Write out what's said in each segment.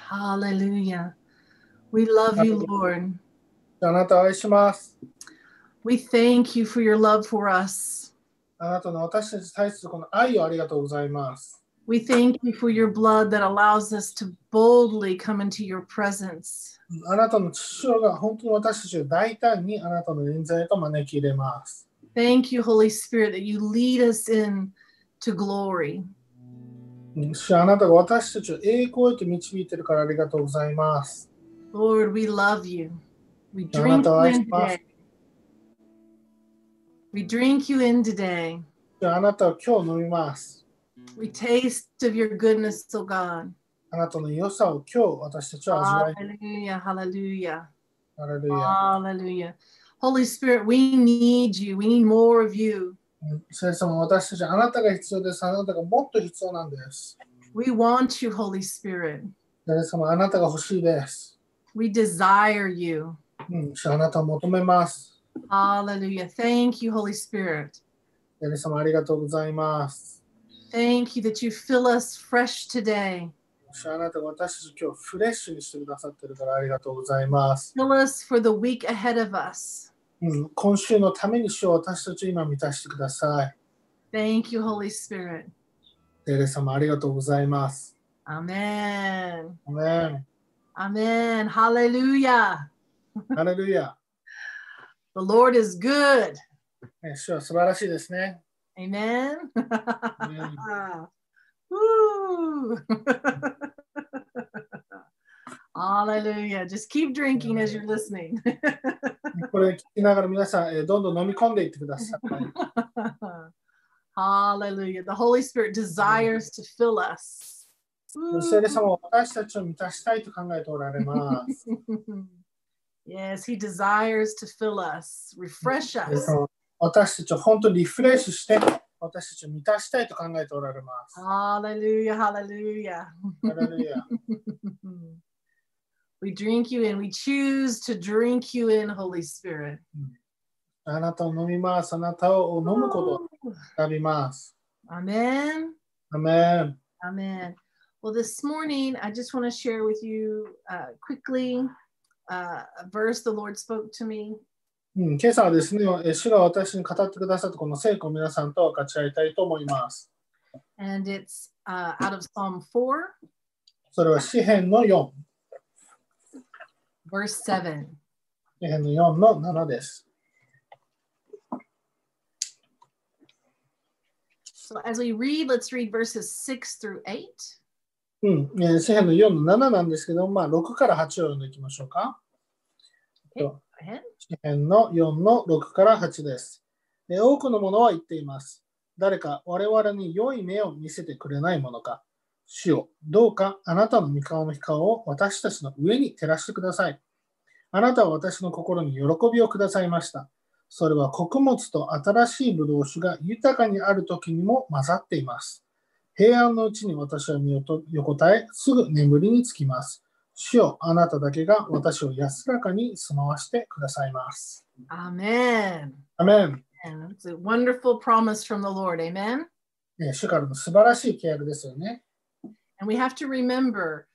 Hallelujah. We love you, Lord. あなたを愛します。 We thank you for your love for us. あなたの私たちに対するこの愛をありがとうございます。 We thank you for your blood that allows us to boldly come into your presence. あなたの血潮が本当に私たちを大胆にあなたの臨在へと招き入れます。 Thank you, Holy Spirit, that you lead us in to glory. あなたが私たちを栄光へと導いているからありがとうございます。 Lord, we love you. We あな drink たを you 愛し in ます。 today. We drink you in today. あなたを今日飲みます。 We taste of your goodness, O God. あなたの良さを今日私たちは味わい。 Hallelujah, hallelujah, ハレルヤ。 hallelujah. Holy Spirit, we need you. We need more of you. 聖様、私たちあなたが必要です。あなたがもっと必要なんです。 We want you, Holy Spirit. 聖様、あなたが欲しいです。 We desire you. あなたを求めます。 Hallelujah. Thank you, Holy Spirit. 聖様、ありがとうございます。 Thank you that you fill us fresh today. あなたが私たち今日フレッシュにしてくださっているからありがとうございます。 Fill us for the week ahead of us. 今週のために主を私たちを今満たしてください。 Thank you, Holy Spirit. 聖様、ありがとうございます。 Amen. アメン。 Amen. Hallelujah. ハレルヤ。 The Lord is good. 主は素晴らしいですね。 Amen. Amen. Woo. Hallelujah. Just keep drinking as you're listening. これ聞きながら皆さん、どんどん飲み込んでいってください。 Hallelujah. The Holy Spirit desires to fill us. 聖霊様は私たちを満たしたいと考えておられます。 Yes, He desires to fill us, refresh 聖霊 us. 様、私たちを本当にリフレッシュして私たちを満たしたいと考えておられます。 Hallelujah, hallelujah. ハレルヤ。 We drink you in. We choose to drink you in, Holy Spirit. あなたを飲みます。あなたを飲むことを選びます。 Amen. アメン。 Amen. Well, this morning, I just want to share with you quickly a verse the Lord spoke to me. 今朝はですね、主が私に語ってくださったこの聖句を皆さんと分かち合いたいと思います。 And it's out of Psalm 4, それは詩編の4。 verse 7. 詩編の4の7です。 So as we read, let's read verses 6 through 8. 詩編の4の7なんですけど、6から8を読んでいきましょうか。 Okay, go ahead. 詩編の4の6から8です。多くの者は言っています。誰か我々に良い目を見せてくれないものか。主よ、どうかあなたの御顔の光を私たちの上に照らしてください。あなたは私の心に喜びをくださいました。それは穀物と新しいブドウ酒が豊かにある時にも混ざっています。平安のうちに私は身を横たえ、すぐ眠りにつきます。主よ、あなただけが私を安らかに住まわしてくださいます。 Amen. アメン。 And it's a wonderful promise from the Lord. Amen. 主からの素晴らしい契約ですよね。 And we have to remember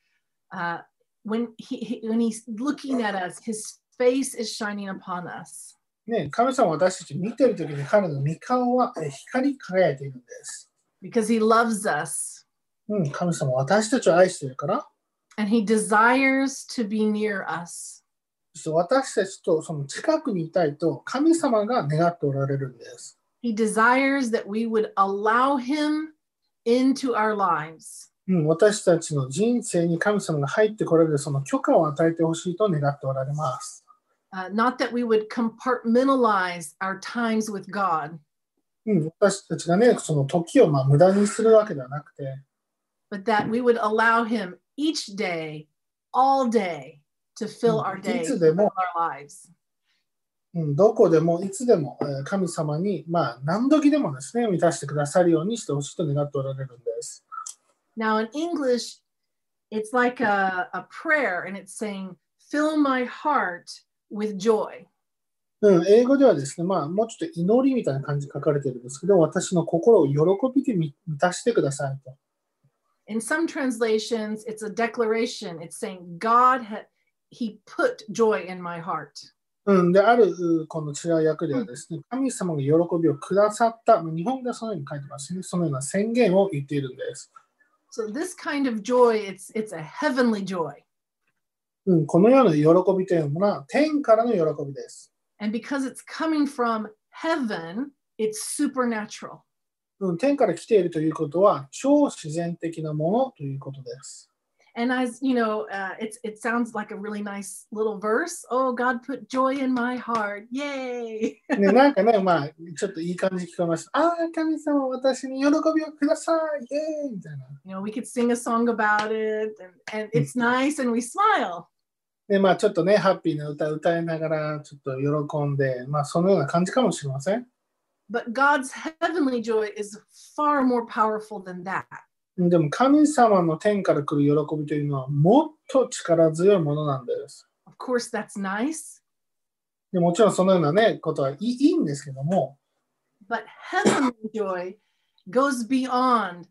when he's looking at us, his face is shining upon us. 神様は私たち見ているときに彼の御顔は光り輝いているんです。 Because he loves us. 神様は私たちを愛しているから、 And he desires to be near us. そして私たちとその近くにいたいと神様が願っておられるんです。 He desires that we would allow him into our lives. 私たちの人生に神様が入ってこられるその許可を与えてほしいと願っておられます。 Not that we would compartmentalize our times with God, 私たちがね、その時を無駄にするわけではなくて、 but that we would allow him each day, all day, to fill our day, いつでも、 fill our lives. どこでもいつでも神様に何時でもですね、満たしてくださるようにしてほしいと願っておられるんです。 Now in English, it's like a prayer, and it's saying, fill my heart with joy. 英語ではですね、もうちょっと祈りみたいな感じで書かれているんですけど、私の心を喜びで満たしてくださいと。 In some translations, it's a declaration. It's saying, He put joy in my heart. で、あるこの違う訳ではですね、神様が喜びをくださった、日本ではそのように書いてますね。そのような宣言を言っているんです。 So this kind of joy, it's a heavenly joy. このような喜びというのは天からの喜びです。 And because it's coming from heaven, it's supernatural. 天から来ているということは超自然的なものということです。 And as you know, it sounds like a really nice little verse. Oh, God put joy in my heart. Yay! なんかね、ちょっといい感じ聞こえました。神様、私に喜びをください。イエーイみたいな。 You know, we could sing a song about it, and it's nice, and we smile. で、ちょっとね、ハッピーな歌を歌いながら、ちょっと喜んで、そのような感じかもしれません。 But God's heavenly joy is far more powerful than that. でも神様の天から来る喜びというのはもっと力強いものなんです。 Of course, that's nice. でもちろんそのようなね、ことはいいんですけども。 But heavenly joy goes beyond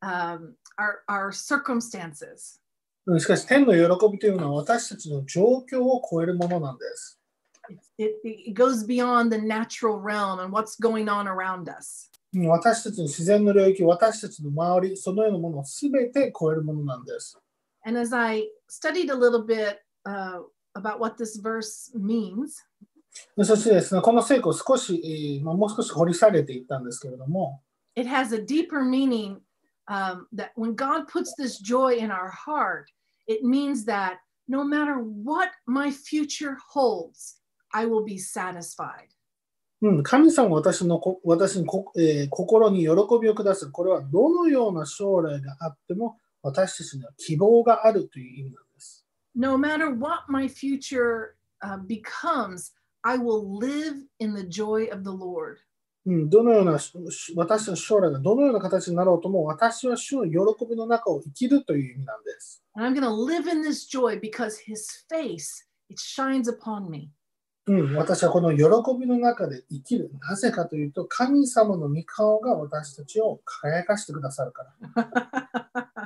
our circumstances. しかし天の喜びというのは私たちの状況を超えるものなんです。 It goes beyond the natural realm and what's going on around us. 私たちの自然の領域、私たちの周り、そのようなものをすべて超えるものなんです。 And as I studied a little bit about what this verse means, そしてですね、この聖句を少し、もう少し掘り下げていったんですけれども、 it has a deeper meaning that when God puts this joy in our heart, it means that no matter what my future holds, I will be satisfied. 神様が私に、心に喜びをくださる。これはどのような将来があっても私たちには希望があるという意味なんです。 No matter what my future becomes, I will live in the joy of the Lord. どのような私たちの将来がどのような形になろうとも私は主の喜びの中を生きるという意味なんです。 And I'm going to live in this joy because His face, it shines upon me. 私はこの喜びの中で生きる。なぜかというと、神様の御顔が私たちを輝かしてくださるから。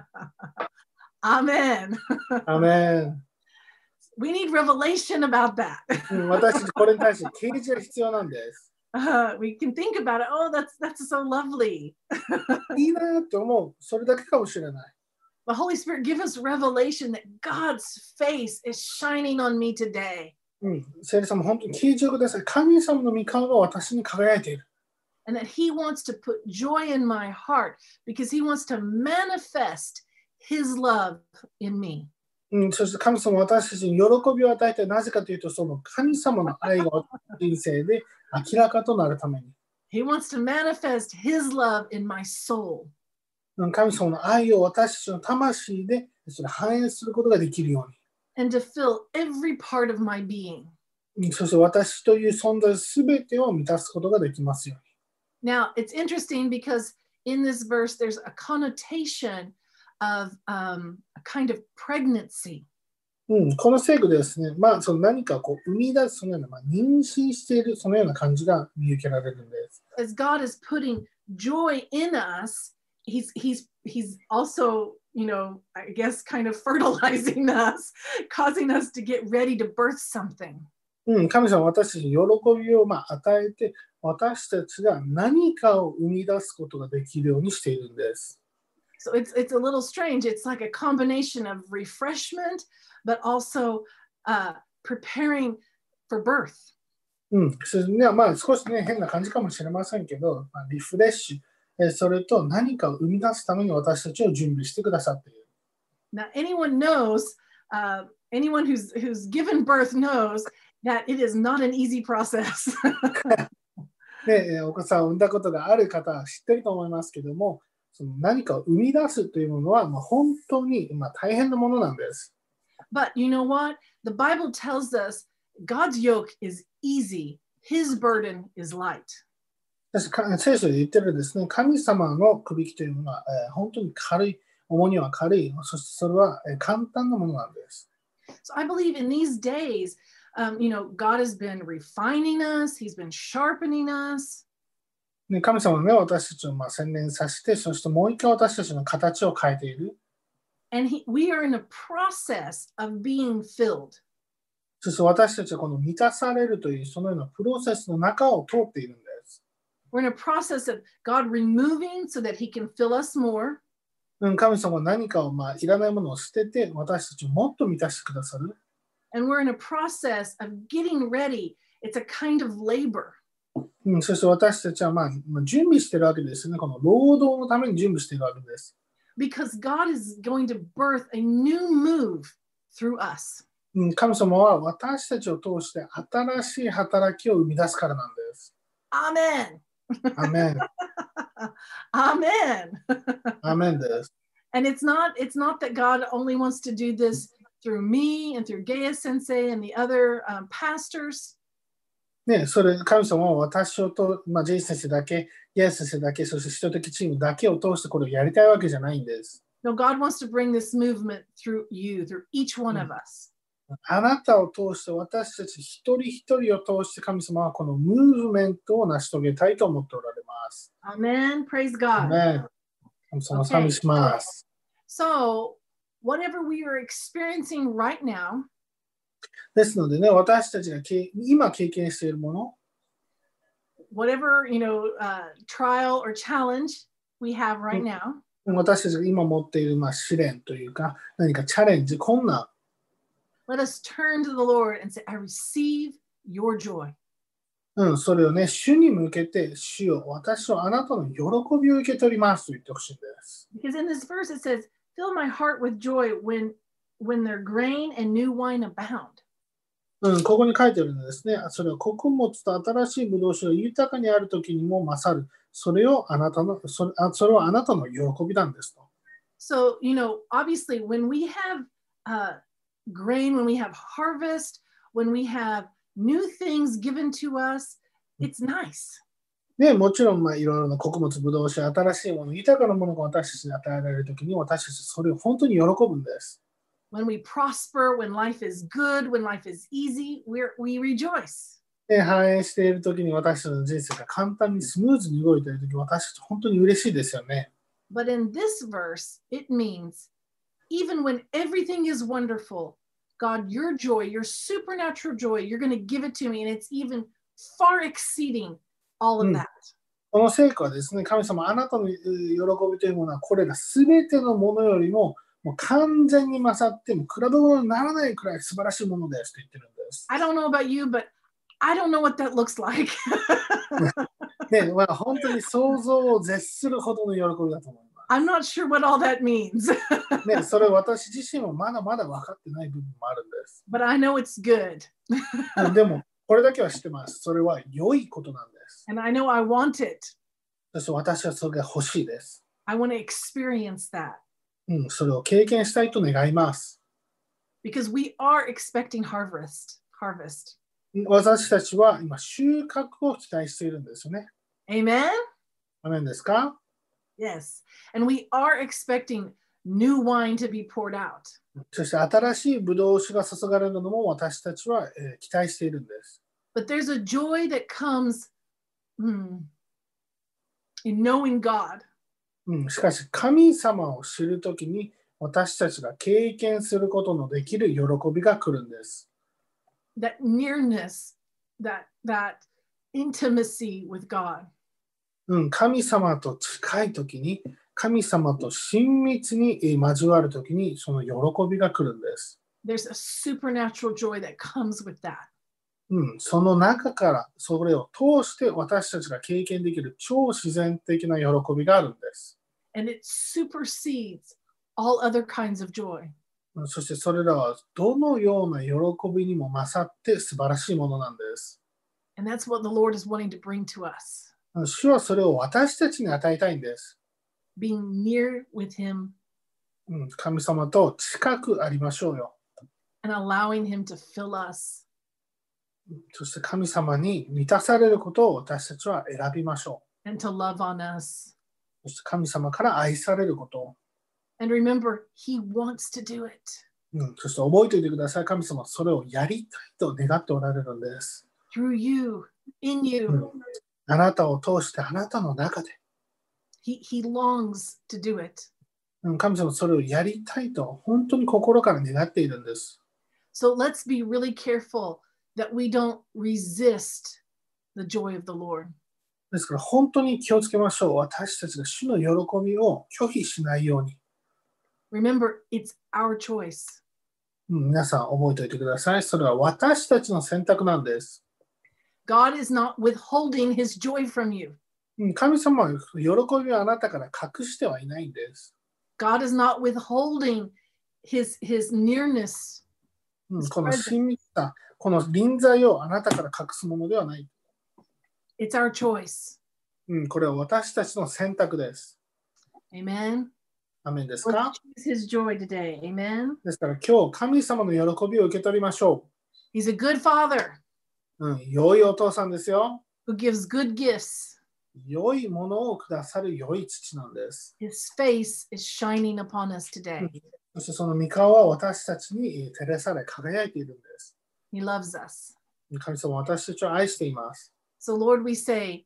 アメン。 アメン。 We need revelation about that. 私たちこれに対して啓示が必要なんです。 We can think about it. Oh, that's so lovely. いいなって思う。それだけかもしれない。 The Holy Spirit give us revelation that God's face is shining on me today. 聖霊様、本当に啓示をください。神様の御顔が私に輝いている。 And that He wants to put joy in my heart because He wants to manifest His love in me. そして神様は私たちに喜びを与えて、なぜかというと、その神様の愛が人生で明らかとなるために。 He wants to manifest His love in my soul. 神様の愛を私たちの魂でそれ反映することができるように。 And to fill every part of my being. そして私という存在すべてを満たすことができますように。Now, it's interesting because in this verse there's a connotation of a kind of pregnancy. この聖句でですね、その何かこう生み出すそのような、妊娠しているそのような感じが見受けられるんです。 As God is putting joy in us, He's also, you know, I guess kind of fertilizing us, causing us to get ready to birth something. 神様は私たちに喜びを与えて、私たちが何かを生み出すことができるようにしているんです。 So it's a little strange. It's like a combination of refreshment, but also preparing for birth. 少しね、変な感じかもしれませんけど、リフレッシュ、それと何かを生み出すために私たちを準備してくださっている。 Now, anyone knows, anyone who's given birth knows that it is not an easy process. で、お子さんを産んだことがある方は知ってると思いますけども、その何かを生み出すというものは本当に大変なものなんです。 But you know what? The Bible tells us God's yoke is easy, His burden is light. 聖書で言ってるですね、神様のくびきというものは、本当に軽い、重荷は軽い、そしてそれは簡単なものなんです。 So I believe in these days, you know, God has been refining us, He's been sharpening us. ね、神様はね、私たちを洗練させて、そしてもう一回私たちの形を変えている。 And we are in a process of being filled. そして私たちはこの満たされるというそのようなプロセスの中を通っているんです。 We're in a process of God removing so that He can fill us more. 神様は何かをいらないものを捨てて私たちをもっと満たしてくださる。 And we're in a process of getting ready. It's a kind of labor. そして私たちは準備しているわけですね。この労働のために準備しているわけです。 Because God is going to birth a new move through us. 神様は私たちを通して新しい働きを生み出すからなんです。 Amen. アメン。 Amen. アメンです。 And it's not that God only wants to do this through me and through Gaya Sensei and the other pastors. ね、それ神様は私をと、ジェイ先生だけ、イエス先生だけ、そして人的チームだけを通してこれをやりたいわけじゃないんです。 No, God wants to bring this movement through you, through each one of us. あなたを通して私たち一人一人を通して神様はこのムーブメントを成し遂げたいと思っておられます。 Amen. Praise God. Amen. 神様を賛美します。 So, whatever we are experiencing right now, ですのでね、私たちが今経験しているもの、 whatever, trial or challenge we have right now, 私たちが今持っている試練というか、何かチャレンジ、困難、 let us turn to the Lord and say, I receive your joy. それをね、主に向けて、主よ、私はあなたの喜びを受け取りますと言ってほしいんです。 Because in this verse it says, fill my heart with joy when their grain and new wine abound. ここに書いてあるのですね。それは穀物と新しいブドウ酒が豊かにあるときにも勝る。それはあなたの喜びなんですと。 So, obviously when we have grain, when we have harvest, when we have new things given to us, it's nice. ね、もちろんいろいろな穀物、ブドウ酒、新しいもの、豊かなものが私たちに与えられるときに私たちそれを本当に喜ぶんです。 When we prosper, when life is good, when life is easy, we rejoice. 繁栄しているときに私たちの人生が簡単にスムーズに動いているとき、私たち本当に嬉しいですよね。 But in this verse, it means even when everything is wonderful, God, your joy, your supernatural joy, you're going to give it to me, and it's even far exceeding all of that. この成果はですね、神様、あなたの喜びというものは、これらすべてのものよりも、もう完全に勝っても比べ物にならないくらい素晴らしいものですと言ってるんです。 I don't know about you, but I don't know what that looks like. ね、本当に想像を絶するほどの喜びだと思います。 I'm not sure what all that means. ね、それ私自身もまだまだ分かってない部分もあるんです。 But I know it's good. でも、これだけは知ってます。それは良いことなんです。 And I know I want it. そして私はそれが欲しいです。 I want to experience that. それを経験したいと願います。 Because we are expecting harvest. 私たちは今収穫を期待しているんですよね。 Amen? アメンですか？ Yes. And we are expecting new wine to be poured out. そして新しいブドウ酒が注がれるのも私たちは期待しているんです。 But there's a joy that comes in knowing God. しかし神様を知るときに私たちが経験することのできる喜びが来るんです。 That nearness, that intimacy with God. 神様と近いときに、神様と親密に交わるときにその喜びが来るんです。 There's a supernatural joy that comes with that. その中からそれを通して私たちが経験できる超自然的な喜びがあるんです。 And it supersedes all other kinds of joy. そしてそれらはどのような喜びにも勝って素晴らしいものなんです。 And that's what the Lord is wanting to bring to us. 主はそれを私たちに与えたいんです。 Being near with Him. 神様と近くありましょうよ。 And allowing Him to fill us. そして神様に満たされることを私たちは選びましょう。And to love on us. そして神様から愛されることを。 And remember, He wants to do it. そして覚えておいてください。神様はそれをやりたいと願っておられるんです。 Through you, in you. あなたを通してあなたの中で、 He longs to do it. 神様はそれをやりたいと本当に心から願っているんです。 So let's be really careful that we don't resist the joy of the Lord. ですから本当に気をつけましょう。私たちが主の喜びを拒否しないように。 Remember, it's our choice. 皆さん覚えておいてください。それは私たちの選択なんです。 God is not withholding his joy from you. 神様は喜びをあなたから隠してはいないんです。 God is not withholding his nearness. この親密さ、この臨在をあなたから隠すものではない。 It's our choice. これは私たちの選択です。 Amen. アメンですか？ Let's choose his joy today. Amen. ですから今日神様の喜びを受け取りましょ He's a good father う。良いお父さんですよ。 who gives good gifts. 良いものをくださる良い父なんです。 His face is shining upon us today. そしてその御顔は私たちに照らされ輝いているんです。 He loves us. 神様は私たちを愛しています。 So, Lord, we say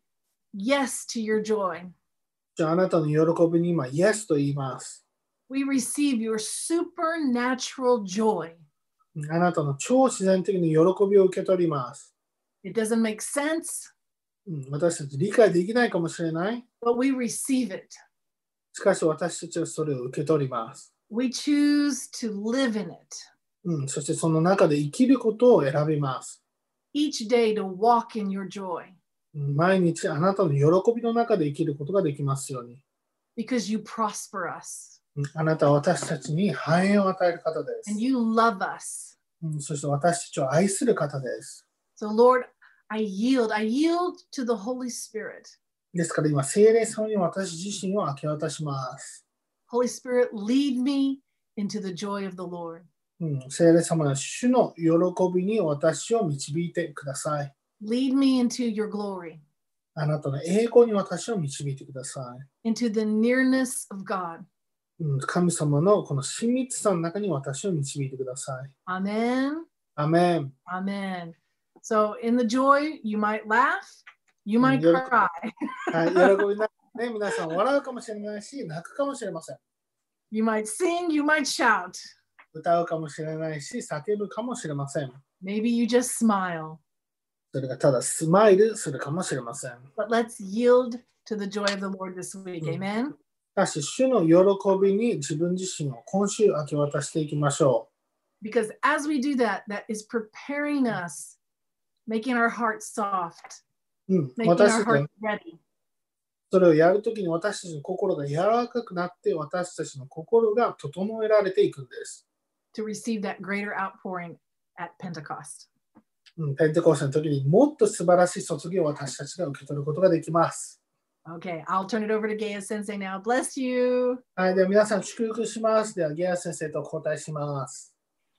yes to your joy. じゃああなたの喜びに今、イエスと言います。 We receive your supernatural joy. あなたの超自然的な喜びを受け取ります。 It doesn't make sense, 私たち理解できないかもしれない。 but we receive it. しかし私たちはそれを受け取ります。 We choose to live in it. そしてその中で生きることを選びます。 Each day to walk in your joy. 毎日あなたの喜びの中で生きることができますように。 Because you prosper us. あなたは私たちに繁栄を与える方で And す。 you love us. そして私たちを愛する方です。 So, Lord, I yield to the Holy Spirit. ですから今、聖霊様に私自身を明け渡します。 Holy Spirit, lead me into the joy of the Lord. 聖霊様の主の喜びに私を導いてください。 Lead me into your glory, あなたの栄光に私を導いてください。 into the nearness of God. 神様のこの親密さの中に私を導いてください。 Amen. アメン。 Amen. So, in the joy, you might laugh, you might cry. はい、喜びながらね、皆さん笑うかもしれないし、泣くかもしれません。 You might sing, you might shout. 歌うかもしれないし、叫ぶかもしれません。 Maybe you just smile. それがただスマイルするかもしれません。 But let's yield to the joy of the Lord this week. Amen. しかし、主の喜びに自分自身を今週明け渡していきましょ Because as we do that, that is preparing us, making our hearts soft, う。 making 私 our たちが hearts ready. それをやるときに私たちの心が柔らかくなって、私たちの心が整えられていくんです。 To receive that greater outpouring at Pentecost. ペンテコステの時にもっと素晴らしい注ぎを私たちが受け取ることができます。 Okay, I'll turn it over to Gaya Sensei now. Bless you. はい、では皆さん祝福します。では、ゲア先生と交代します。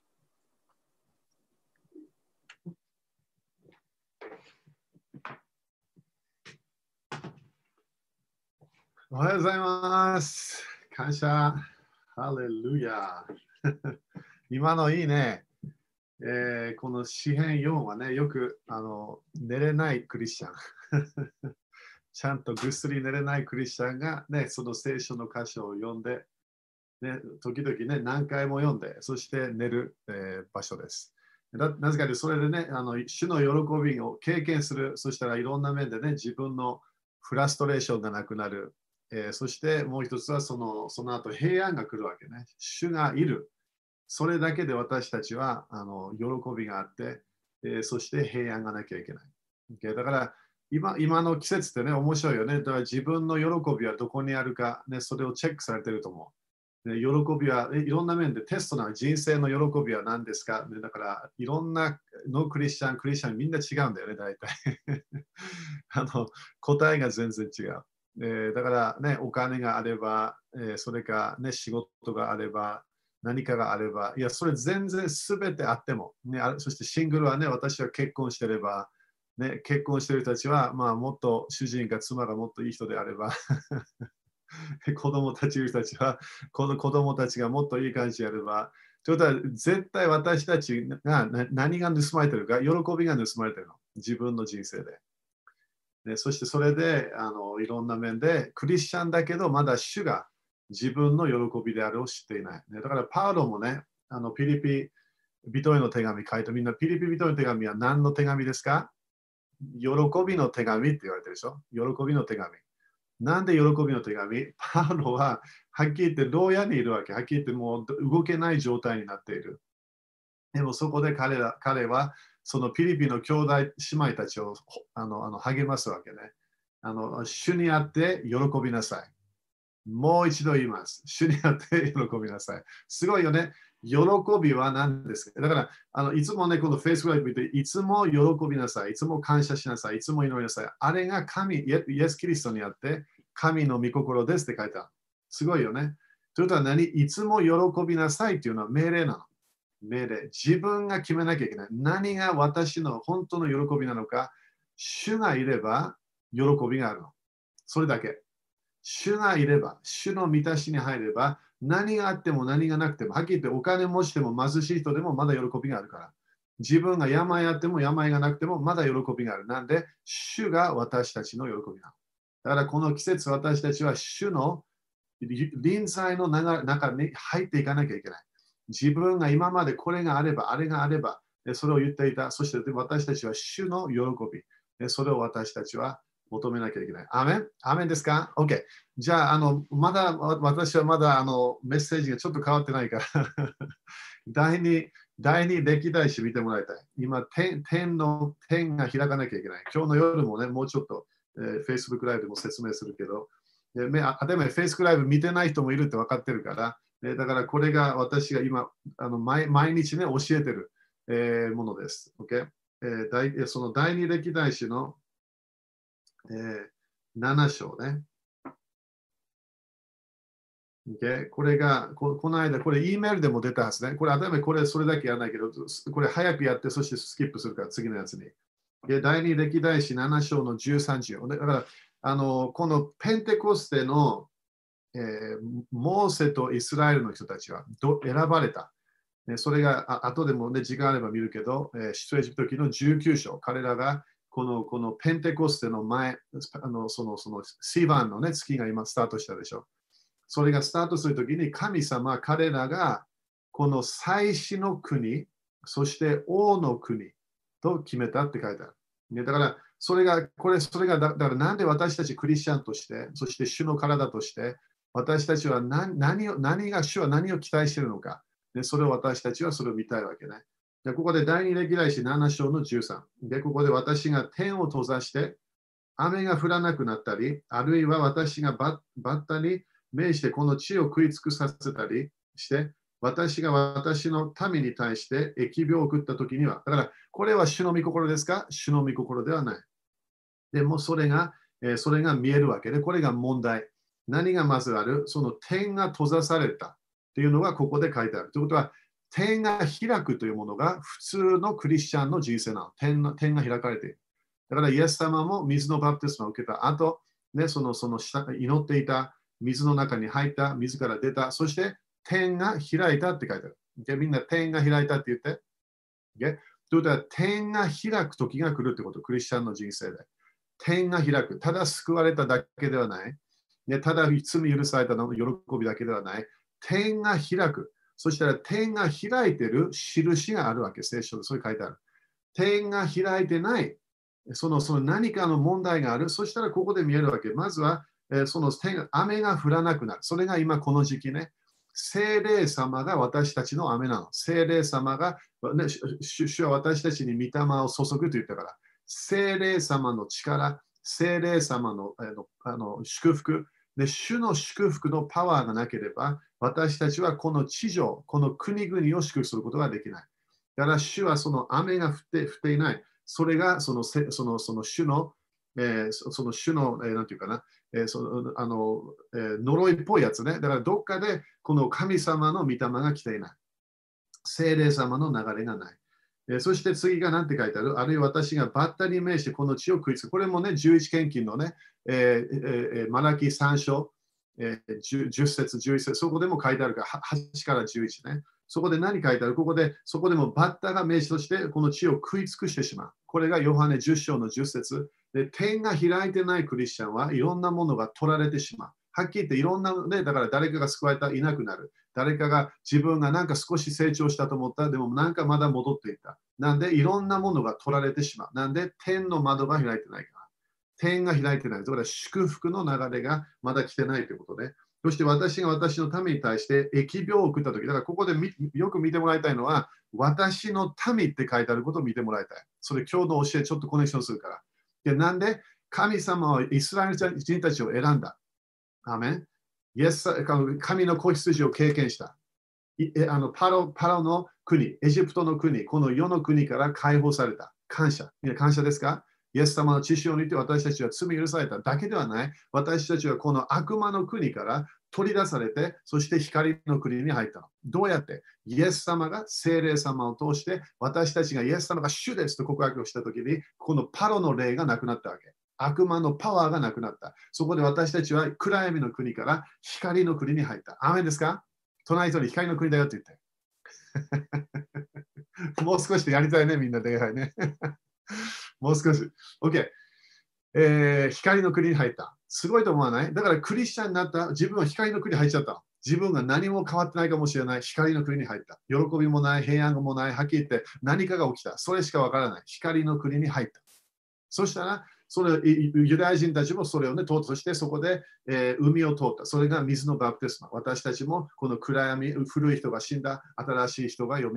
おはようございます。感謝。ハレルヤ。今のいいね。この詩編4はね、よく寝れないクリスチャン。ちゃんとぐっすり寝れないクリスチャンが、ね、その聖書の箇所を読んで、ね、時々ね、何回も読んで、そして寝る、場所です。なぜかというと、それでね、主の喜びを経験する、そしたらいろんな面でね、自分のフラストレーションがなくなる。そしてもう一つはその後平安が来るわけね。主がいる。それだけで私たちは喜びがあって、そして平安がなきゃいけない。だから今の季節ってね、面白いよね。だから自分の喜びはどこにあるか、ね、それをチェックされてると思う。喜びはいろんな面でテストな人生の喜びは何ですか、ね、だからいろんなのクリスチャンみんな違うんだよね、大体。答えが全然違う。だからね、お金があれば、それか、ね、仕事があれば、何かがあれば、いや、それ全然すべてあっても、ね、そしてシングルはね、私は結婚してれば、ね、結婚している人たちは、まあ、もっと主人か妻がもっといい人であれば、子供たちいる人たちは、この子供たちがもっといい感じであれば、ということは、絶対私たちが何が盗まれてるか、喜びが盗まれてるの。自分の人生で。 そしてそれでいろんな面でクリスチャンだけどまだ主が自分の喜びであるを知っていない。だからパウロもね、ピリピ人への手紙書いてみんなピリピ人への手紙は何の手紙ですか？喜びの手紙って言われてるでしょ。喜びの手紙。なんで喜びの手紙？パウロははっきり言って牢屋にいるわけ。はっきり言ってもう動けない状態になっている。でもそこで彼はそのピリピの兄弟姉妹たちを励ますわけね。主にあって喜びなさい。もう一度言います。主にあって喜びなさい。すごいよね。喜びは何ですか？だからいつもね、この Facebook ライブ見て、いつも喜びなさい。いつも感謝しなさい。いつも祈りなさい。あれがイエス・キリストにあって神の御心ですって書いてある。すごいよね。ということは何？いつも喜びなさいっていうのは命令なの。命令。自分が決めなきゃいけない。何が私の本当の喜びなのか。主がいれば喜びがあるの。それだけ。主がいれば、主の満たしに入れば、何があっても何がなくても、はっきり言ってお金持ちでも貧しい人でもまだ喜びがあるから。自分が病あっても病がなくてもまだ喜びがある。なんで、主が私たちの喜びなの。だからこの季節、私たちは主の臨在の中に入っていかなきゃいけない。自分が今までこれがあれば、あれがあれば、それを言っていた。そして私たちは主の喜び。それを私たちは求めなきゃいけない。アメン？アメンですか？ OK。じゃあ、私はまだメッセージがちょっと変わってないから第二歴代史見てもらいたい。今、点が開かなきゃいけない。今日の夜もね、もうちょっと、Facebook ライブでも説明するけど、でも Facebook ライブ見てない人もいるって分かってるから、だからこれが私が今、毎日ね、教えてる、ものです。OK？その第二歴代史の7章ね。Okay? これがこの間、これ E メールでも出たはずね。これ、これそれだけやらないけど、これ早くやって、そしてスキップするから次のやつに。第二歴代史7章の13章。だからこのペンテコステの、モーセとイスラエルの人たちは選ばれた。それが後でも、ね、時間あれば見るけど、出エジプト記の19章。彼らがこのペンテコステの前、そのシバンの、ね、月が今スタートしたでしょ。それがスタートするときに神様、彼らがこの祭司の国、そして王の国と決めたって書いてある。ね、だから、それがだからなんで私たちクリスチャンとして、そして主の体として、私たちは主は何を期待しているのか。でそれを私たちはそれを見たいわけね。でここで第二歴代史7章の13。で、ここで私が天を閉ざして雨が降らなくなったり、あるいは私がバッタに命してこの地を食い尽くさせたりして、私が私の民に対して疫病を送ったときには、だからこれは主の御心ですか？主の御心ではない。でもそれが見えるわけで、これが問題。何がまずある？その天が閉ざされたというのがここで書いてある。ということは、天が開くというものが普通のクリスチャンの人生なの。天が開かれている。だからイエス様も水のバプテスマを受けた後、ね、その祈っていた水の中に入った、水から出た、そして天が開いたって書いてある。でみんな天が開いたって言って。でということは、天が開く時が来るってこと、クリスチャンの人生で。天が開く。ただ救われただけではない。ね、ただ罪許されたの喜びだけではない。天が開く。そしたら天が開いている印があるわけ、聖書でそういう書いてある。天が開いてない。その何かの問題がある。そしたらここで見えるわけ。まずは、雨が降らなくなる。それが今この時期ね。聖霊様が私たちの雨なの。聖霊様が、ね、主は私たちに御霊を注ぐと言ったから。聖霊様の力、聖霊様の祝福で、主の祝福のパワーがなければ、私たちはこの地上、この国々を祝福することができない。だから主はその雨が降っていない。それがその主の、なんていうかな、呪いっぽいやつね。だからどっかでこの神様の御霊が来ていない。聖霊様の流れがない。そして次が何て書いてある？あるいは私がバッタに命してこの地を食いつく。これもね、11献金のね、マラキ3章、10節、11節、そこでも書いてあるから、8から11ね。そこで何書いてある？そこでもバッタが命としてこの地を食い尽くしてしまう。これがヨハネ10章の10節。 で、点が開いてないクリスチャンはいろんなものが取られてしまう。はっきり言っていろんな、ね、だから誰かが救われたらいなくなる。誰かが自分がなんか少し成長したと思ったら、でもなんかまだ戻っていた。なんでいろんなものが取られてしまう。なんで点の窓が開いてないから。点が開いてない。だから祝福の流れがまだ来てないということで。そして私が私の民に対して疫病を送ったとき、だからここでよく見てもらいたいのは、私の民って書いてあることを見てもらいたい。それ今日の教えちょっとコネクションするから。で、なんで神様はイスラエル人たちを選んだ。アメン。神の子羊を経験した。パロの国、エジプトの国、この世の国から解放された。感謝。みんな感謝ですか？イエス様の知識を見て私たちは罪許されただけではない。私たちはこの悪魔の国から取り出されて、そして光の国に入ったの。どうやって？イエス様が聖霊様を通して、私たちがイエス様が主ですと告白をしたときに、このパロの霊がなくなったわけ。悪魔のパワーがなくなった。そこで私たちは暗闇の国から光の国に入った。アーメンですか？隣人に光の国だよって言って。もう少しでやりたいね、みんなで。ね、もう少し。OK。光の国に入った。すごいと思わない？だからクリスチャンになった自分は光の国に入っちゃった。自分が何も変わってないかもしれない光の国に入った。喜びもない、平安もない、はっきり言って何かが起きた。それしかわからない。光の国に入った。そしたら、ユダヤ人たちもそれをね、通って、そこで、海を通った。それが水のバプテスマ。私たちもこの暗闇、古い人が死んだ、新しい人が蘇った。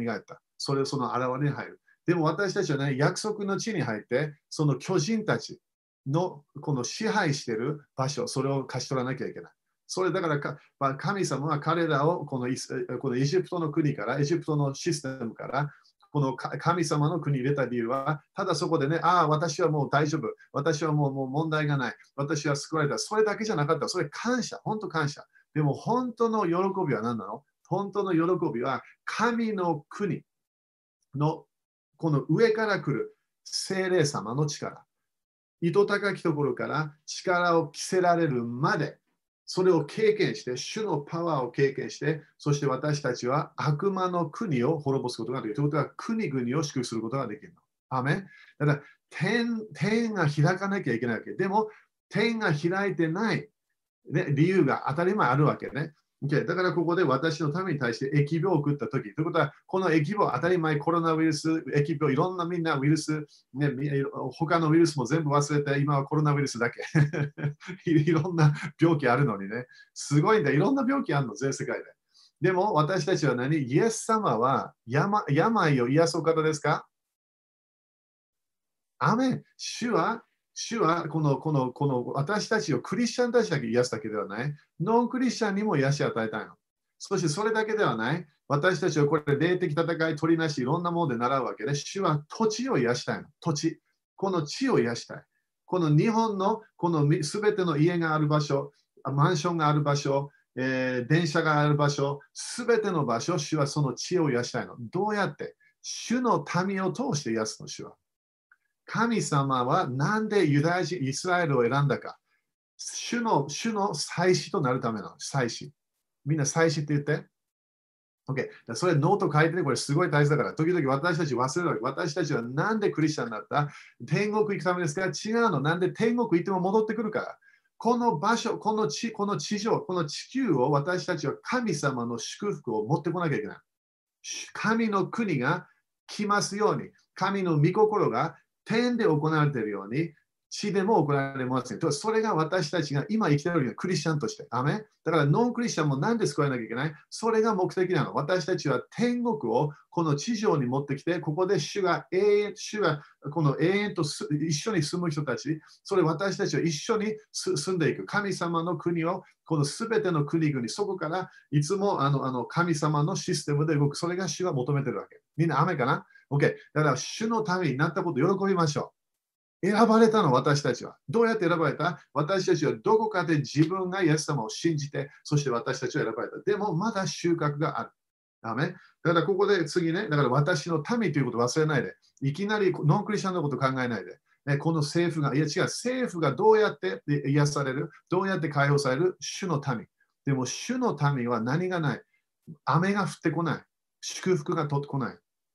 それをその現れに入る。でも私たちはね、約束の地に入って、その巨人たちのこの支配している場所、それを勝ち取らなきゃいけない。それだから神様は彼らをこのエジプトの国から、エジプトのシステムから、この神様の国に入れた理由は、ただそこでね、私はもう大丈夫。私はもう問題がない。私は救われた。それだけじゃなかった。それ感謝。本当感謝。でも本当の喜びは何なの？本当の喜びは神の国のこの上から来る聖霊様の力。糸高きところから力を着せられるまで、それを経験して、主のパワーを経験して、そして私たちは悪魔の国を滅ぼすことができる。ということは、国々を祝福することができるの。アメン。だから天が開かなきゃいけないわけ。でも、天が開いてない、ね、理由が当たり前あるわけね。だからここで私のために対して疫病を送ったとき、ということは、この疫病、当たり前、コロナウイルス、疫病、いろんなみんなウイルス、ね、他のウイルスも全部忘れて、今はコロナウイルスだけ。いろんな病気あるのにね、すごいんだ、いろんな病気あるの、全世界で。でも私たちは何？イエス様は病を癒すお方ですか？アメン。主はこの私たちをクリスチャンたちだけ癒すだけではない。ノンクリスチャンにも癒し与えたいの。そしてそれだけではない。私たちはこれ霊的戦い、取りなし、いろんなもので習うわけで、主は土地を癒したいの。土地。この地を癒したい。この日本のこのすべての家がある場所、マンションがある場所、電車がある場所、すべての場所、主はその地を癒したいの。どうやって？主の民を通して癒すの、主は。神様はなんでユダヤ人、イスラエルを選んだか。主の祭司となるための祭司。みんな祭司って言って。OK。それノート書いてね、これすごい大事だから。時々私たち忘れるわけ。私たちはなんでクリスチャンになった？天国行くためですか？違うの。なんで天国行っても戻ってくるから。この場所、この地上、この地球を私たちは神様の祝福を持ってこなきゃいけない。神の国が来ますように、神の御心が天で行われているように、地でも行われますね。それが私たちが今生きているクリスチャンとして。アメン。だからノンクリスチャンもなんで救われなきゃいけない？それが目的なの。私たちは天国をこの地上に持ってきて、ここで主がこの永遠と一緒に住む人たち、それ私たちは一緒に住んでいく。神様の国を、このすべての国々、そこからいつも神様のシステムで動く。それが主が求めているわけ。みんな雨かな？ OK。だから主のためになったことを喜びましょう。選ばれたの、私たちは。どうやって選ばれた？私たちはどこかで自分がイエス様を信じて、そして私たちは選ばれた。でも、まだ収穫がある。ダメ？だからここで次ね、だから私の民ということを忘れないで、いきなりノンクリスチャンのことを考えないで、この政府が、いや違う、政府がどうやって癒される？どうやって解放される？主の民。でも、主の民は何がない？雨が降ってこない。祝福が取ってこない。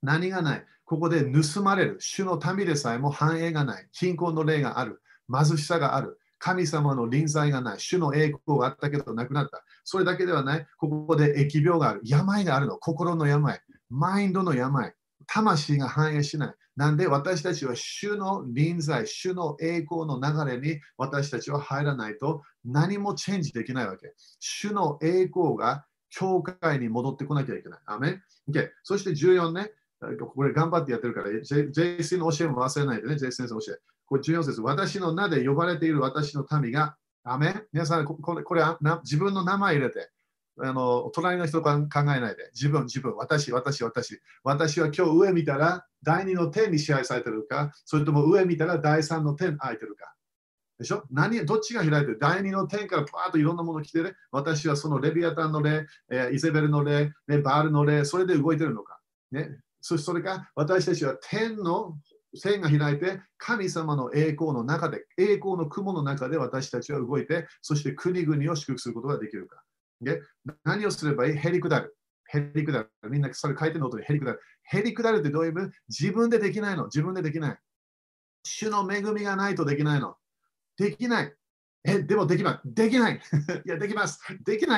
何がない。ここで盗まれる。主の民でさえも繁栄がない。貧困の霊がある。貧しさがある。神様の臨在がない。主の栄光があったけどなくなった。それだけではない。ここで疫病がある。病があるの。心の病。マインドの病。魂が反映しない。なんで私たちは主の臨在、主の栄光の流れに私たちは入らないと何もチェンジできないわけ。主の栄光が教会に戻ってこなきゃいけない。アメン、okay、そして14ね。これ頑張ってやってるから、JC の教えも忘れないでね、JC 先生の教え。これ14節。私の名で呼ばれている私の民が、アメン、皆さん、これ自分の名前入れて、隣の人考えないで、自分、私は今日上見たら第2の天に支配されてるか、それとも上見たら第3の天空いてるか。でしょ？どっちが開いてる？第2の天からパーッといろんなもの来てね、私はそのレビアタンの霊、イゼベルの霊、バールの霊、それで動いてるのか。ね、それか私たちは天が開いて神様の栄光の中で、栄光の雲の中で私たちは動いて、そして国々を祝福することができるか。で何をすればいい？へりくだる。みんなそれ書いてるのとへりくだる。へりくだるってどういう意味？自分でできないの。自分でできない。主の恵みがないとできないの。できない。でもできます。できない。いや、できます。できない。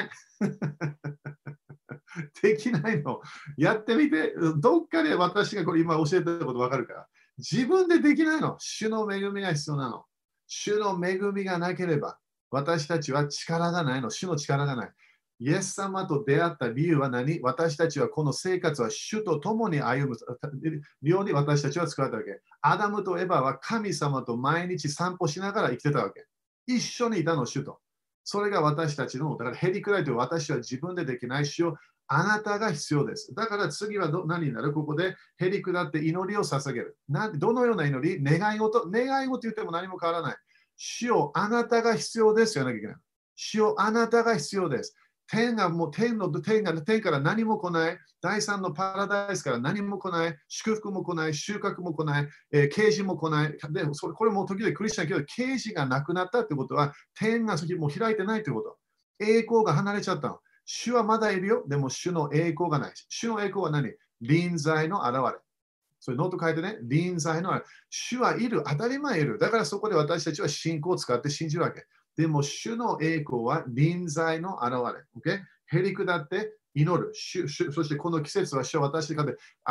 できないの。やってみて、どっかで私がこれ今教えてること分かるから。自分でできないの。主の恵みが必要なの。主の恵みがなければ、私たちは力がないの。主の力がない。イエス様と出会った理由は何？私たちはこの生活は主と共に歩むように私たちは作られたわけ。アダムとエバは神様と毎日散歩しながら生きてたわけ。一緒にいたの、主と。それが私たちの、だからへりくらいと私は自分でできない。主をあなたが必要です。だから次は何になる？ここでへりくだって祈りを捧げる。どのような祈り？願い事言っても何も変わらない。主をあなたが必要ですよなきゃいけない。主をあなたが必要です。天から何も来ない。第三のパラダイスから何も来ない。祝福も来ない。収穫も来ない。啓示も来ない。でこれも時々クリスチャンけど、啓示がなくなったということは、天がもう開いてないということ。栄光が離れちゃったの。主はまだいるよ。でも主の栄光がない。主の栄光は何？臨在の現れ。それノート書いてね。臨在の現れ。主はいる。当たり前いる。だからそこで私たちは信仰を使って信じるわけ。でも、主の栄光は臨在の現れ。Okay？ へりくだって祈る。そしてこの季節は主は私が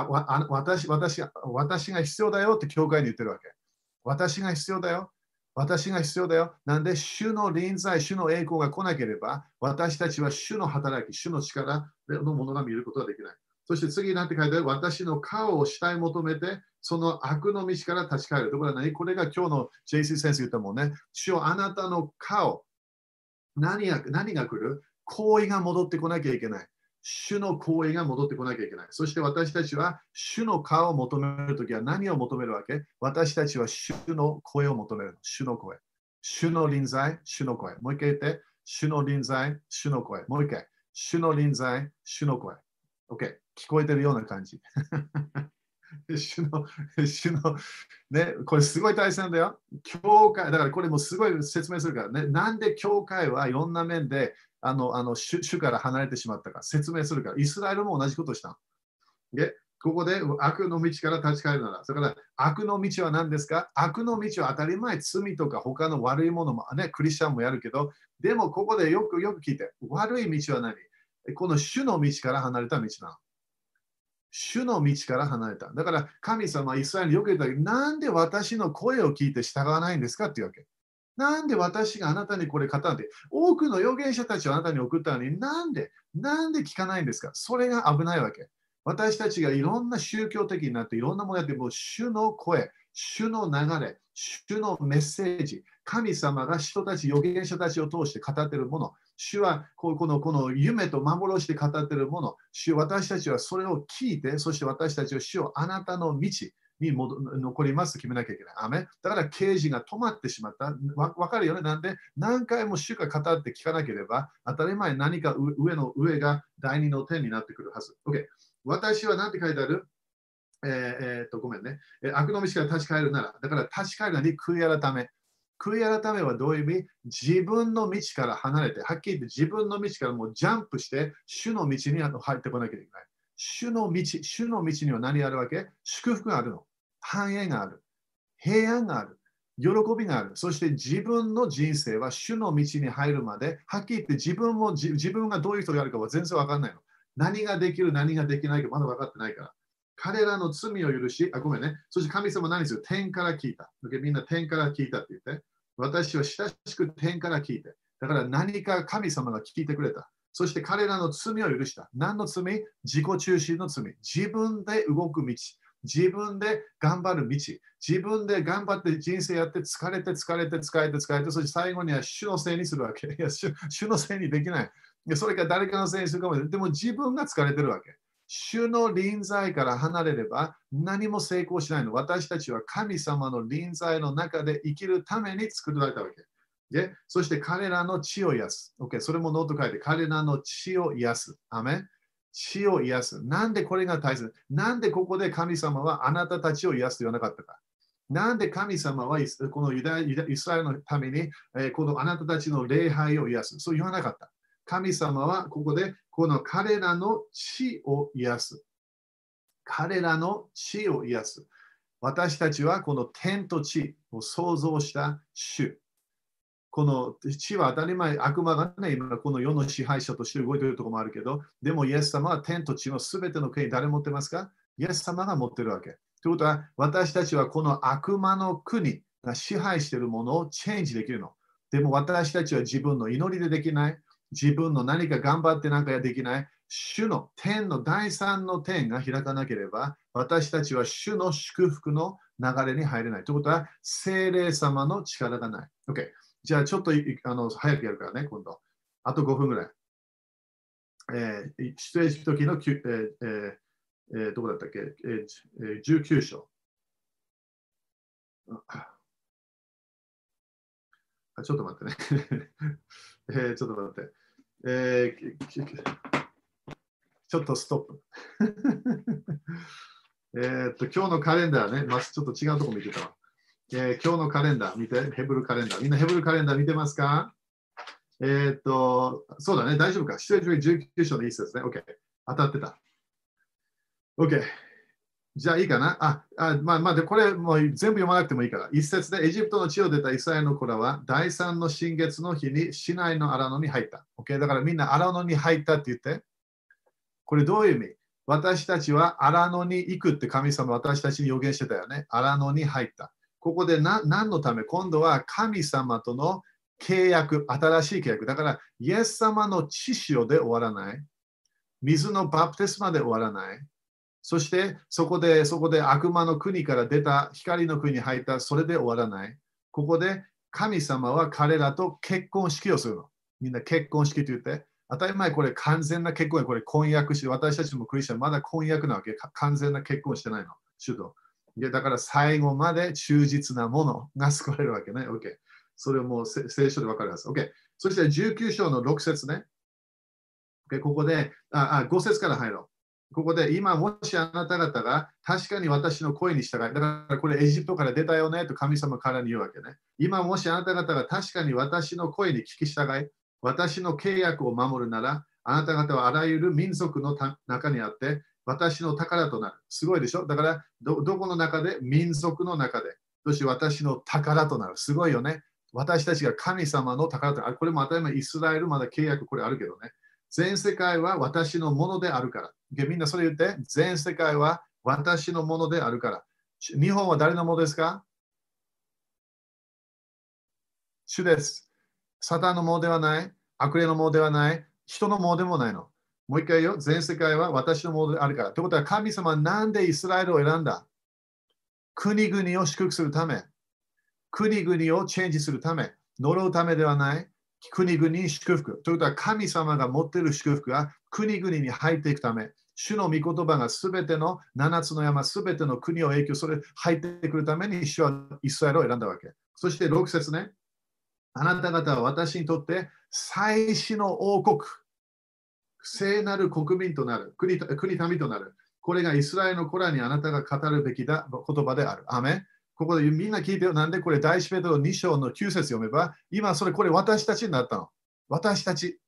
必要だよって教会に言ってるわけ。私が必要だよ。私が必要だよ。なんで、主の臨在、主の栄光が来なければ、私たちは主の働き、主の力のものが見ることができない。そして次になって書いてある、私の顔を主体求めて、その悪の道から立ち返る。ところは何？これが今日の JC 先生言ったもんね。主よあなたの顔、何が来る？行為が戻ってこなきゃいけない。主の行為が戻ってこなきゃいけない。そして私たちは主の顔を求めるときは何を求めるわけ？私たちは主の声を求める。主の声。主の臨在、主の声。もう一回言って。主の臨在、主の声。もう一回。主の臨在、主の声。OK。聞こえてるような感じ。主の、ね、これすごい大切だよ。教会、だからこれもすごい説明するからね。なんで教会はいろんな面で主から離れてしまったか説明するから。イスラエルも同じことをしたの。で、ここで悪の道から立ち返るなら、だから悪の道は何ですか？悪の道は当たり前、罪とか他の悪いものもね、クリスチャンもやるけど、でもここでよく聞いて、悪い道は何？この主の道から離れた道なの。主の道から離れた。だから神様はイスラエルによく言ったけど、なんで私の声を聞いて従わないんですかっていうわけ。なんで私があなたにこれ語って、多くの預言者たちをあなたに送ったのに、なんで聞かないんですか？それが危ないわけ。私たちがいろんな宗教的になって、いろんなものやって、もう主の声、主の流れ、主のメッセージ、神様が人たち、預言者たちを通して語っているもの、主はこの夢と幻で語っているもの、私たちはそれを聞いて、そして私たちは主をあなたの道に残りますと決めなきゃいけない。アメだから刑事が止まってしまった。わかるよね。なんで何回も主が語って聞かなければ、当たり前何か上が第二の点になってくるはず。OK。私は何て書いてある？ごめんね。悪の道から立ち返るなら、だから立ち返るのに悔い改め。悔い改めはどういう意味？自分の道から離れて、はっきり言って自分の道からもうジャンプして、主の道に入ってこなきゃいけない。 主の道には何があるわけ？祝福があるの。繁栄がある。平安がある。喜びがある。そして自分の人生は主の道に入るまで、はっきり言って自分がどういう人であるかは全然わかんないの。何ができる、何ができないかまだ分かってないから。彼らの罪を許し、ごめんね。そして神様は何する？天から聞いた。みんな天から聞いたって言って。私は親しく天から聞いて。だから何か神様が聞いてくれた。そして彼らの罪を許した。何の罪？自己中心の罪。自分で動く道。自分で頑張る道。自分で頑張って人生やって疲れて、そして最後には主のせいにするわけ。いや、主のせいにできない。それから誰かのせいにするかもしれない。でも自分が疲れてるわけ。主の臨在から離れれば何も成功しないの。私たちは神様の臨在の中で生きるために作られたわけ。で、そして彼らの血を癒す。OK、それもノート書いて、彼らの血を癒す。アメン。血を癒す。なんでこれが大切？なんでここで神様はあなたたちを癒すと言わなかったか？なんで神様はこのイスラエルのためにこのあなたたちの礼拝を癒す？そう言わなかった。神様はここでこの彼らの血を癒す。彼らの血を癒す。私たちはこの天と地を創造した主。この地は当たり前、悪魔がね、今この世の支配者として動いているところもあるけど、でもイエス様は天と地のすべての権威、誰持ってますか？イエス様が持ってるわけ。ということは、私たちはこの悪魔の国が支配しているものをチェンジできるの。でも私たちは自分の祈りでできない。自分の何か頑張ってなんかできない。主の天の第三の天が開かなければ、私たちは主の祝福の流れに入れない。ということは、聖霊様の力がない。OK。じゃあちょっと早くやるからね、今度。あと5分ぐらい。出エジプト記のどこだったっけ、19章。ちょっと待ってね。ちょっと待って。ちょっとストップ。今日のカレンダーね、ちょっと違うところ見てたわ。今日のカレンダー見て、ヘブルカレンダー。みんなヘブルカレンダー見てますか？そうだね、大丈夫か。出エジプト19章の一節ね。OK。当たってた。OK。じゃあいいかな。でこれもう全部読まなくてもいいから。一節でエジプトの地を出たイスラエルの子らは第三の新月の日に市内の荒野に入った。OK。だからみんな荒野に入ったって言って。これどういう意味？私たちは荒野に行くって神様私たちに予言してたよね。荒野に入った。ここで何のため？今度は神様との契約、新しい契約。だから、イエス様の血潮で終わらない。水のバプテスマで終わらない。そして、そこで悪魔の国から出た光の国に入った、それで終わらない。ここで神様は彼らと結婚式をするの。みんな結婚式と言って。当たり前、これ完全な結婚これ婚約して、私たちもクリスチャン、まだ婚約なわけ。完全な結婚してないの。主と。だから最後まで忠実なものが救われるわけね。OK。それをもう聖書で分かります。OK。そして19章の6節ね。OK。ここで、5節から入ろう。ここで、今もしあなた方が確かに私の声に従い、だからこれエジプトから出たよねと神様からに言うわけね。今もしあなた方が確かに私の声に聞き従い、私の契約を守るなら、あなた方はあらゆる民族の中にあって、私の宝となる。すごいでしょ？だから、どこの中で？民族の中で。そして私の宝となる。すごいよね。私たちが神様の宝となる。これも当たり前、イスラエルまだ契約これあるけどね。全世界は私のものであるから。みんなそれ言って。全世界は私のものであるから。日本は誰のものですか？主です。サタンのものではない。悪霊のものではない。人のものでもないの。もう一回言うよ。全世界は私のものであるから。ということは神様はなんでイスラエルを選んだ？国々を祝福するため。国々をチェンジするため。呪うためではない。国々に祝福。ということは神様が持っている祝福が国々に入っていくため。主の御言葉がすべての7つの山、すべての国を影響する、入ってくるために主はイスラエルを選んだわけ。そして6節ね。あなた方は私にとって最初の王国、聖なる国民となる、国民となる。これがイスラエルの子らにあなたが語るべきだ言葉である。アメン。ここでみんな聞いてよ。なんでこれ第一ペテロ2章の9節読めば、今それこれ私たちになったの。私たち。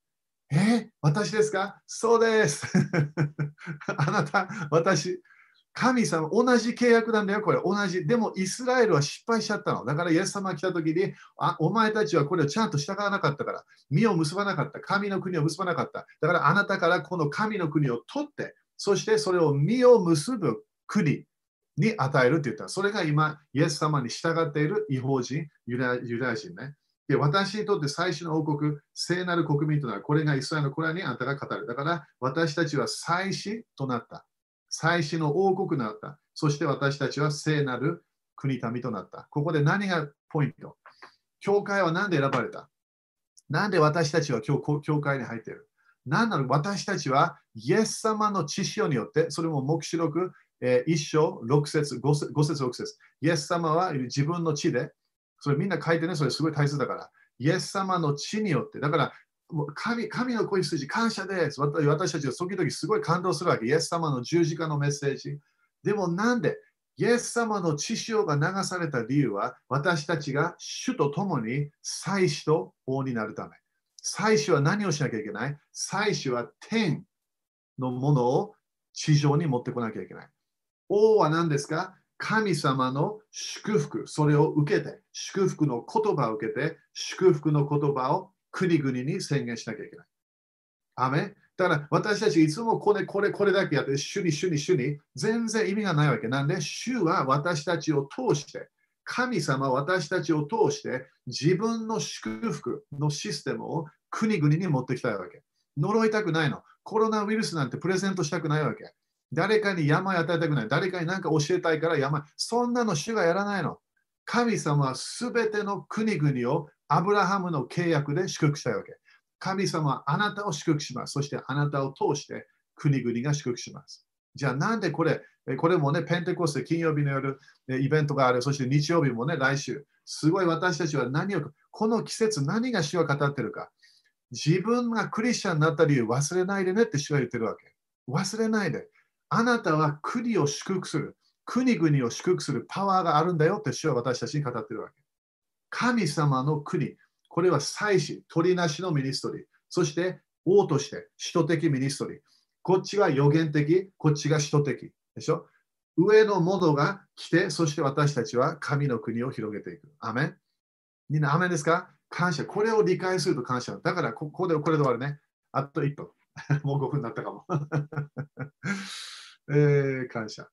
私ですか？そうです。あなた、私、神様、同じ契約なんだよ、これ、同じ。でも、イスラエルは失敗しちゃったの。だから、イエス様が来た時に、お前たちはこれをちゃんと従わなかったから、実を結ばなかった、神の国を結ばなかった。だから、あなたからこの神の国を取って、そしてそれを実を結ぶ国に与えるって言った。それが今、イエス様に従っている異邦人、ユダヤ人ね。で、私にとって最初の王国、聖なる国民となる。これがイスラエルのコラにあなたが語る。だから、私たちは祭司となった。祭司の王国となった。そして私たちは聖なる国民となった。ここで何がポイント？教会は何で選ばれた？なんで私たちは教会に入っている？何なの？私たちはイエス様の知識によって、それも黙示録1章6節5節6節。イエス様は自分の地で、それみんな書いてね、それすごい大切だから。イエス様の地によって、だから神の子羊感謝です。私たちは時々すごい感動するわけ。イエス様の十字架のメッセージ。でもなんでイエス様の血潮が流された理由は、私たちが主と共に祭司と王になるため。祭司は何をしなきゃいけない？祭司は天のものを地上に持ってこなきゃいけない。王は何ですか？神様の祝福、それを受けて、祝福の言葉を受けて、祝福の言葉を国々に宣言しなきゃいけない。アメン。だから私たちいつもこれだけやって、主に、全然意味がないわけ。なんで、主は私たちを通して、神様は私たちを通して、自分の祝福のシステムを国々に持ってきたいわけ。呪いたくないの。コロナウイルスなんてプレゼントしたくないわけ。誰かに病与えたくない。誰かに何か教えたいから病。そんなの主がやらないの。神様はすべての国々をアブラハムの契約で祝福したいわけ。神様はあなたを祝福します。そしてあなたを通して国々が祝福します。じゃあなんでこれもね、ペンテコステ金曜日の夜イベントがある。そして日曜日もね、来週。すごい私たちはこの季節何が主は語ってるか。自分がクリスチャンになった理由忘れないでねって主は言ってるわけ。忘れないで。あなたは国を祝福する。国々を祝福するパワーがあるんだよって主は私たちに語ってるわけ。神様の国。これは祭司、取りなしのミニストリー。そして王として使徒的ミニストリー。こっちは予言的、こっちが使徒的。でしょ？上のものが来て、そして私たちは神の国を広げていく。アメン。みんなアメンですか？感謝。これを理解すると感謝。だからこれで終わるね。あと1分。もう5分になったかも。感謝。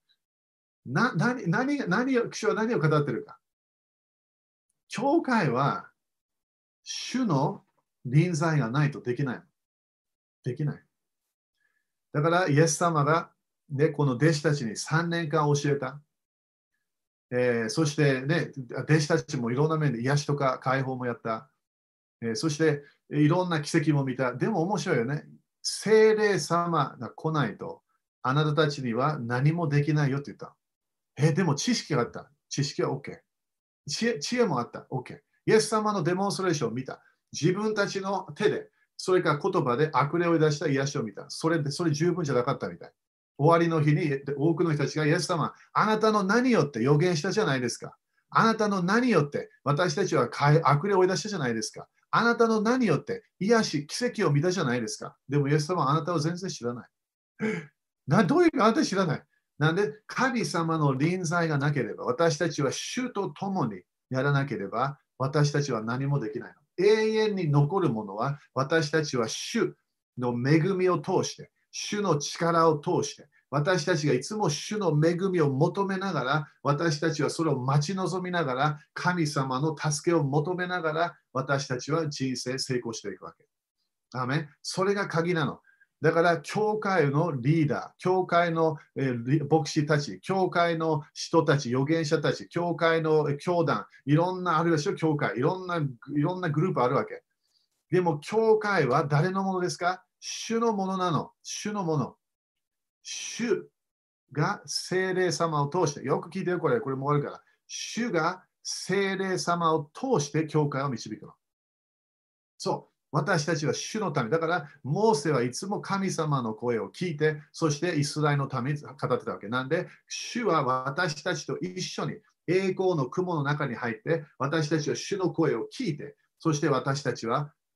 主は何を語ってるか。教会は主の臨在がないとできない。できない。だからイエス様が、ね、この弟子たちに3年間教えた。そして、ね、弟子たちもいろんな面で癒しとか解放もやった。そしていろんな奇跡も見た。でも面白いよね。聖霊様が来ないとあなたたちには何もできないよって言った。でも知識があった。知識は OK。知恵もあった。OK。イエス様のデモンストレーションを見た。自分たちの手で、それから言葉で悪霊を出した癒しを見た。それ十分じゃなかったみたい。終わりの日に多くの人たちがイエス様、あなたの何よって予言したじゃないですか。あなたの何よって私たちは悪霊を追い出したじゃないですか。あなたの何よって癒し、奇跡を見たじゃないですか。でもイエス様はあなたを全然知らない。どういうかあなた知らない。なんで神様の臨在がなければ、私たちは主と共にやらなければ、私たちは何もできないの。永遠に残るものは、私たちは主の恵みを通して、主の力を通して、私たちがいつも主の恵みを求めながら、私たちはそれを待ち望みながら、神様の助けを求めながら、私たちは人生成功していくわけ。アメン。それが鍵なの。だから、教会のリーダー、教会の牧師たち、教会の人たち、預言者たち、教会の教団、いろんな、あるいは教会、いろんなグループあるわけ。でも、教会は誰のものですか？主のものなの。主のもの。主が聖霊様を通して、よく聞いてよ、これもあるから。主が聖霊様を通して教会を導くの。そう。私たちは主のため。だから、モーセはいつも神様の声を聞いて、そしてイスラエルのために語ってたわけ。なんで、主は私たちと一緒に栄光の雲の中に入って、私たちは主の声を聞いて、そして私たちは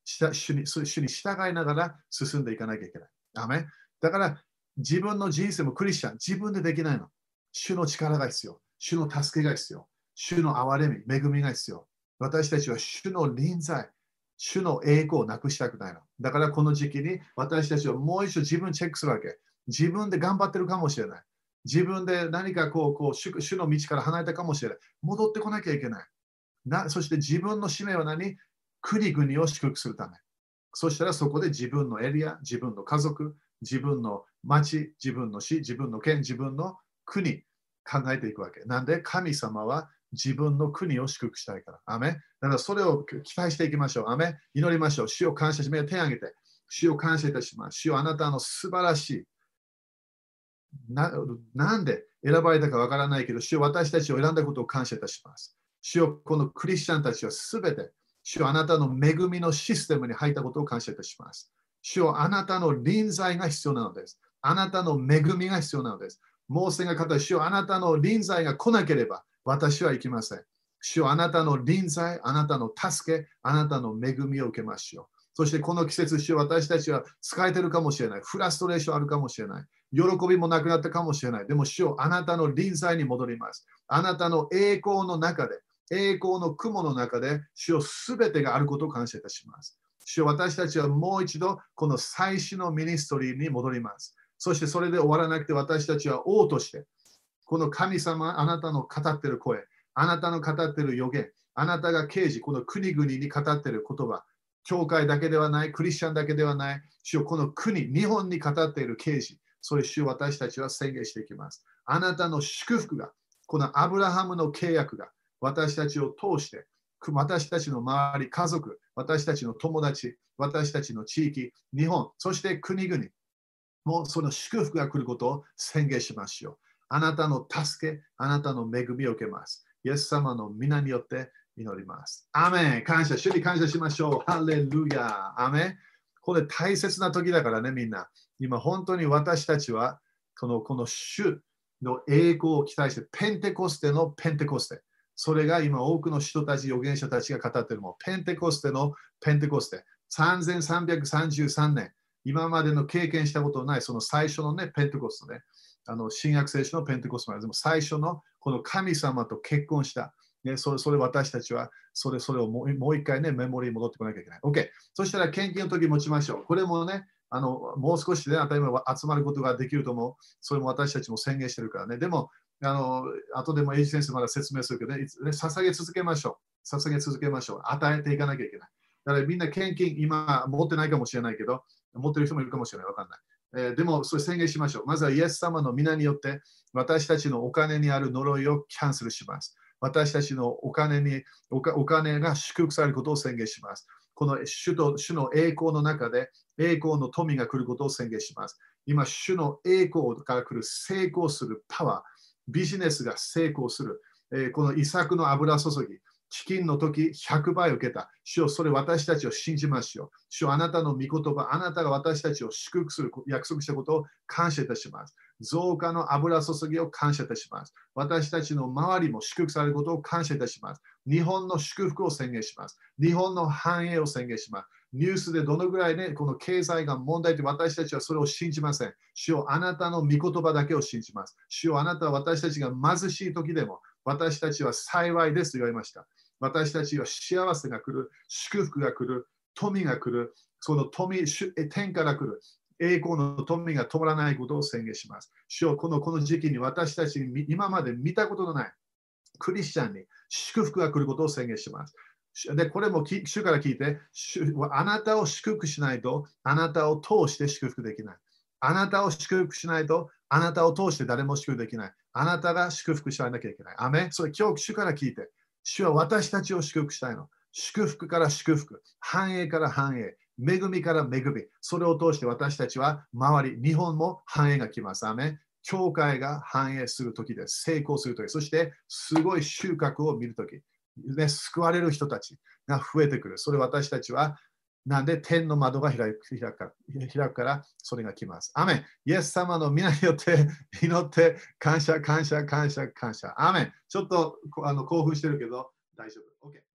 主に従いながら進んでいかなきゃいけない。アメン。だから自分の人生もクリスチャン、自分でできないの。主の力が必要。主の助けが必要。主の憐れみ、恵みが必要。私たちは主の臨在、主の栄光をなくしたくないの。だからこの時期に私たちはもう一度自分チェックするわけ。自分で頑張ってるかもしれない。自分で何か主の道から離れたかもしれない。戻ってこなきゃいけない。そして自分の使命は何？国々を祝福するため。そしたらそこで自分のエリア、自分の家族、自分の町、自分の市、自分の県、自分の国考えていくわけ。なんで神様は自分の国を祝福したいから。アメ。だからそれを期待していきましょう。アメ。祈りましょう。主を感謝し、手を挙げて。主を感謝いたします。主をあなたの素晴らしい。なんで選ばれたかわからないけど、主を私たちを選んだことを感謝いたします。主をこのクリスチャンたちはすべて、主をあなたの恵みのシステムに入ったことを感謝いたします。主をあなたの臨在が必要なのです。あなたの恵みが必要なのです。モーセが語る主をあなたの臨在が来なければ私は行きません。主をあなたの臨在、あなたの助け、あなたの恵みを受けましょう。そしてこの季節、主を私たちは疲れてるかもしれない。フラストレーションあるかもしれない。喜びもなくなったかもしれない。でも主をあなたの臨在に戻ります。あなたの栄光の中で、栄光の雲の中で、主をすべてがあることを感謝いたします。主を私たちはもう一度この最初のミニストリーに戻ります。そしてそれで終わらなくて私たちは王として、この神様、あなたの語っている声、あなたの語っている予言、あなたが刑事、この国々に語っている言葉、教会だけではない、クリスチャンだけではない、主をこの国、日本に語っている刑事、それ主を私たちは宣言していきます。あなたの祝福が、このアブラハムの契約が私たちを通して、私たちの周り、家族、私たちの友達、私たちの地域、日本、そして国々、もうその祝福が来ることを宣言しましょう。あなたの助け、あなたの恵みを受けます。イエス様の皆によって祈ります。アメン。感謝、主に感謝しましょう。ハレルヤ。アメン。これ大切な時だからね、みんな。今本当に私たちはこの主の栄光を期待して、ペンテコステのペンテコステ。それが今多くの人たち、預言者たちが語っているもの。ペンテコステのペンテコステ。3333年。今までの経験したことのないその最初のね、ペンテコストね。新約聖書のペンテコストでも最初のこの神様と結婚した。ね、それ私たちはそれをもう一回ね、メモリーに戻ってこなきゃいけない。OK。そしたら献金の時持ちましょう。これもね、もう少しで、当たり前集まることができると思う。それも私たちも宣言してるからね。でも、後でもエイジ先生まだ説明するけどね、捧げ続けましょう。捧げ続けましょう。与えていかなきゃいけない。だからみんな献金、今持ってないかもしれないけど、持ってる人もいるかもしれない。わかんない。でも、それ宣言しましょう。まずはイエス様の皆によって、私たちのお金にある呪いをキャンセルします。私たちのお金が祝福されることを宣言します。この主の栄光の中で栄光の富が来ることを宣言します。今、主の栄光から来る成功するパワー、ビジネスが成功する、この遺作の油注ぎ、飢饉の時100倍受けた。主よ、それ私たちを信じましょう。主よ、あなたの御言葉、あなたが私たちを祝福する約束したことを感謝いたします。増加の油注ぎを感謝いたします。私たちの周りも祝福されることを感謝いたします。日本の祝福を宣言します。日本の繁栄を宣言します。ニュースでどのぐらいね、この経済が問題で私たちはそれを信じません。主よ、あなたの御言葉だけを信じます。主よ、あなたは私たちが貧しい時でも、私たちは幸いですと言われました。私たちは幸せが来る、祝福が来る、富が来る、その富、天から来る、栄光の富が止まらないことを宣言します。主よ、この時期に私たちに今まで見たことのないクリスチャンに祝福が来ることを宣言します。で、これも主から聞いて、あなたを祝福しないと、あなたを通して祝福できない。あなたを祝福しないと、あなたを通して誰も祝福できない。あなたが祝福しなきゃいけない。アメン。それ今日主から聞いて、主は私たちを祝福したいの。祝福から祝福、繁栄から繁栄、恵みから恵み。それを通して私たちは周り、日本も繁栄が来ます。アメン。教会が繁栄するときです。成功するとき。そしてすごい収穫を見るとき。救われる人たちが増えてくる。それ私たちはなんで天の窓が開くからそれが来ます。アメン。イエス様の皆によって祈って感謝、感謝、感謝、感謝。アメン。ちょっと興奮してるけど大丈夫。OK。